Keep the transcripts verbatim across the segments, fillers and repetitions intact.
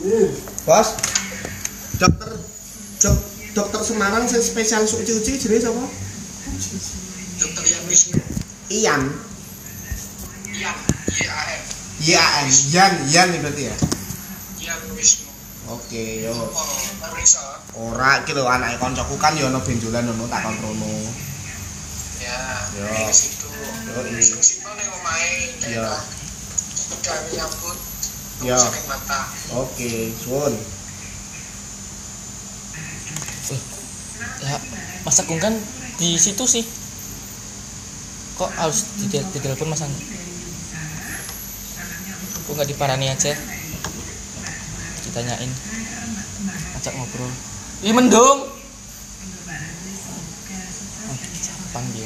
Bos. Dokter dok, dokter Semarang sing spesial cuci-cuci jenenge sapa? Dokter Ian Wisnu. Ian. Ian, Y A N. Y A N. Ian, Ian berarti ya. Ian Wisnu. Oke, yo. Oh, periksa. Ora iki lho anake kancaku kan yo ana benjolan ngono tak kontrono. Ya, Yo. ke situ. Yo, iya. Sing situ ning omahe. Iya. Gawe nyambut. Iya. Saking mata. Oke, suwun. Lah, Mas Agung kan di situ sih. Kok harus di di telepon Mas Agung? Kok nggak diparani aja? Ditanyain. Ajak ngobrol. Ih mendung. Oh, panggil.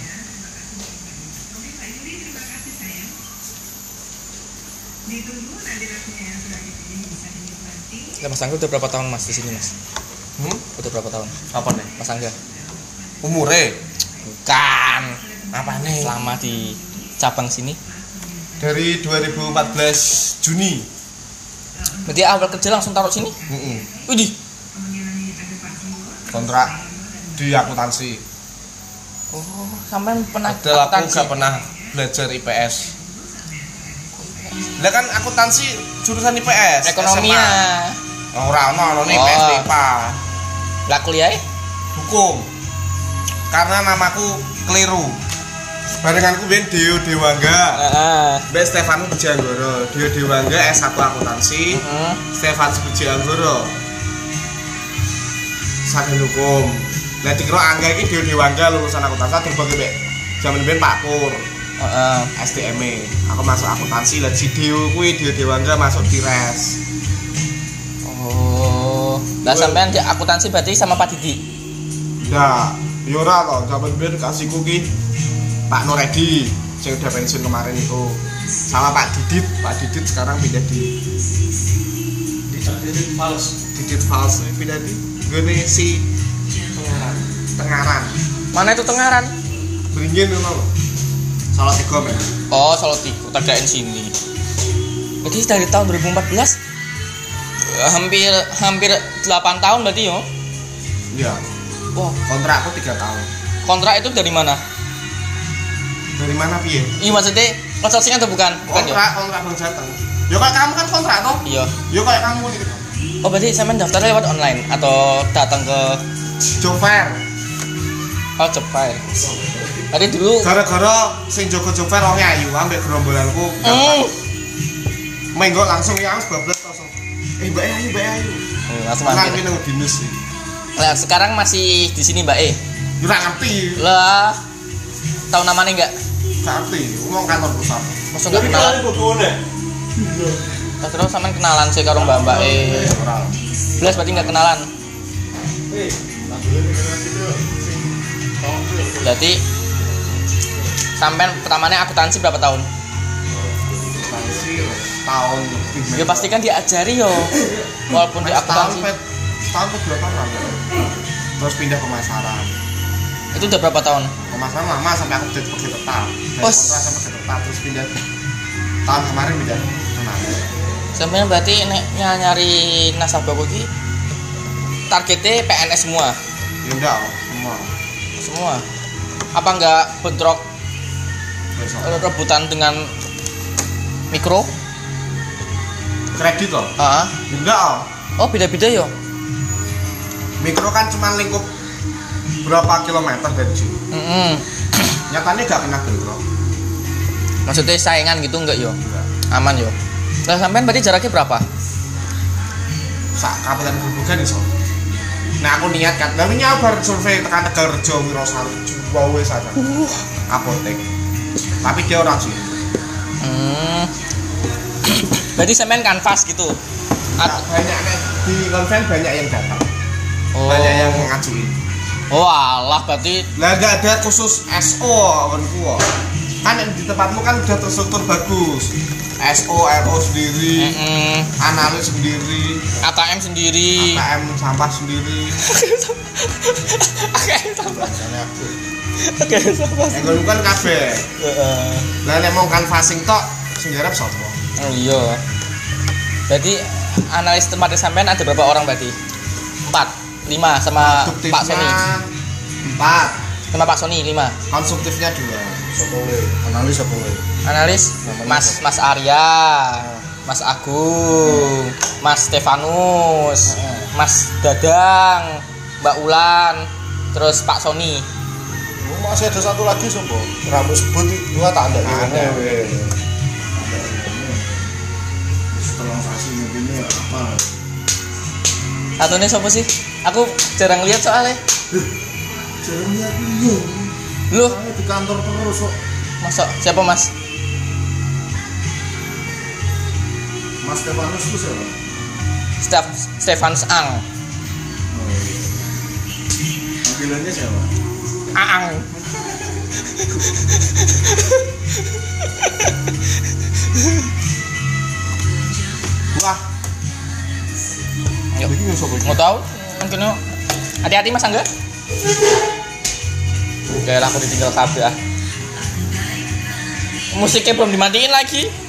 Lah Mas Angga udah berapa tahun Mas di sini Mas? Hmm? Udah berapa tahun? Apa nih? Mas Angga? Umure Bukan. apa nih? Selama di cabang sini. Dari dua ribu empat belas Juni. Berarti awal kerja langsung taruh sini? Heeh. Widih. Kontrak di akuntansi. Oh, sampean pernah Padahal aku akuntansi? gak pernah belajar I P S. Lah kan akuntansi jurusan I P S. Ekonomi S M A. ya. Ora ono ono I P S Oh. I P A. Lah kuliah? Hukum. Karena namaku keliru. Barenganku ben Dio Dewangga. Heeh. Mbak Stefan Pujianggoro. Dio Dewangga S satu akuntansi. Heeh. Stefan Pujianggoro. Sarjana hukum. Lah dikira Angga iki Dio Dewangga lulusan akuntansi terbagi mbek jaman ben Pak Pur. Heeh. S D M E. Aku masuk akuntansi lah si Dio kuwi Dio Dewangga masuk di res. Oh. Lah sampean di akuntansi berarti sama Pak Didi. Nah, yo ora to, jaman ben kasihku ki Pak Noredi yang udah pensiun kemarin itu sama Pak Didit. Pak Didit sekarang pindah di di Didit Fals. Didit Fals pindah di gini si Tengaran. Tengaran. Mana itu Tengaran? Beringin ngono lho. Salah tiga men. Oh, Salatiga, T K N sini. Berarti dari tahun dua ribu empat belas eh, hampir hampir delapan tahun berarti yo. Iya. Wah, Kontrakku tiga tahun. kontrak itu dari mana? Dari mana piye? Iya maksudnya outsourcing atau bukan? Bukan yo. Kontrak, kontrak Bang Jateng. Yo kayak kamu kan kontrak toh? Iya. Yo kayak kamu gitu. Oh, berarti sampean daftar lewat online atau datang ke Job fair. oh cepat. Tadi dulu Gara-gara sing jaga job fair wong ayu ambek gerombolanku. hmm. Menggo langsung ya wis bablas langsung. Eh Mbak Ayu, Mbak Ayu. Hmm, langsung Nang mampir. nang dinas sih. Lah sekarang masih di sini Mbak E. Ora ngerti. Lah tahu namanya enggak? Gak ngerti. Ngomong kantor pusat. Masuk enggak kenalan? Lah terus sampean kenalan sih karo Mbak Mbak E. Ora. Belas berarti enggak kenalan. Berarti sampean pertamanya akuntansi berapa tahun? Akuntansi tahun lebih. Ya pasti kan diajari yo. Walaupun di akuntansi. Tahun ke dua tahun lalu. Terus pindah pemasaran. Itu udah berapa tahun? Pemasaran lama sampai aku jadi pegawai tetap. Dari Oh. kontrak sampai pegawai tetap terus pindah. Tahun kemarin pindah. Kemarin. Sampean berarti nek nyari nasabah iki targetnya P N S semua. Ya enggak, semua. Semua. Apa enggak bentrok Besok. rebutan dengan mikro? Kredit loh. Ah. Ya enggak. Oh. Oh, beda-beda yo. Mikro kan cuma lingkup berapa kilometer dari sini. Heeh. Nyatanya gak kena bentrok. Maksudnya saingan gitu enggak yo? Enggak. Aman yo. Lah sampean berarti jaraknya berapa? Sak kabupaten Grobogan iso. Nah aku niat kan, lalu nyabar survei tekan Tegalrejo Wirosari Jawa wis ada. Apotek. Tapi dia orang sih. Hmm. Berarti sampean kanvas gitu. Nah, banyak di konven banyak yang datang. Oh. Banyak yang ngajuin. Oh, alah berarti Lah enggak ada khusus S O konku. Kan di tempatmu kan udah terstruktur bagus. S O, R O sendiri, mm analis sendiri, A K M sendiri. A K M sampah sendiri. A K M sampah. Jane aku. A K M sampah. Yang ngono kan kabeh. Heeh. Lah nek mau canvassing tok sing garap sapa? Oh iya. Berarti analis tempatnya sampean ada berapa orang berarti? Empat, lima sama Pak Sony. Empat. Sama Pak Sony lima. Konsumtifnya dua. Sokowe, analis apa we? Analis Mas Mas Arya, Mas Agung, Mas Stefanus, Mas Dadang, Mbak Ulan, terus Pak Sony. Oh, masih ada satu lagi sobo. Rambut sebut dua tak ada. Ada we. Setelah sasi ini apa? Satunya siapa sih? Aku jarang lihat soalnya. Jarang lihat ini. Lu Saya di kantor terus kok. masa siapa Mas? Mas Stefanus itu siapa? Stef Stefanus Ang. Oh, iya. Panggilannya siapa? Aang. Wah, Yuk. ini sopo iki? Mau tahu? Mungkin yuk. Hati-hati Mas Angga. Oke lah aku ditinggal kabeh ah. Musiknya belum dimatiin lagi.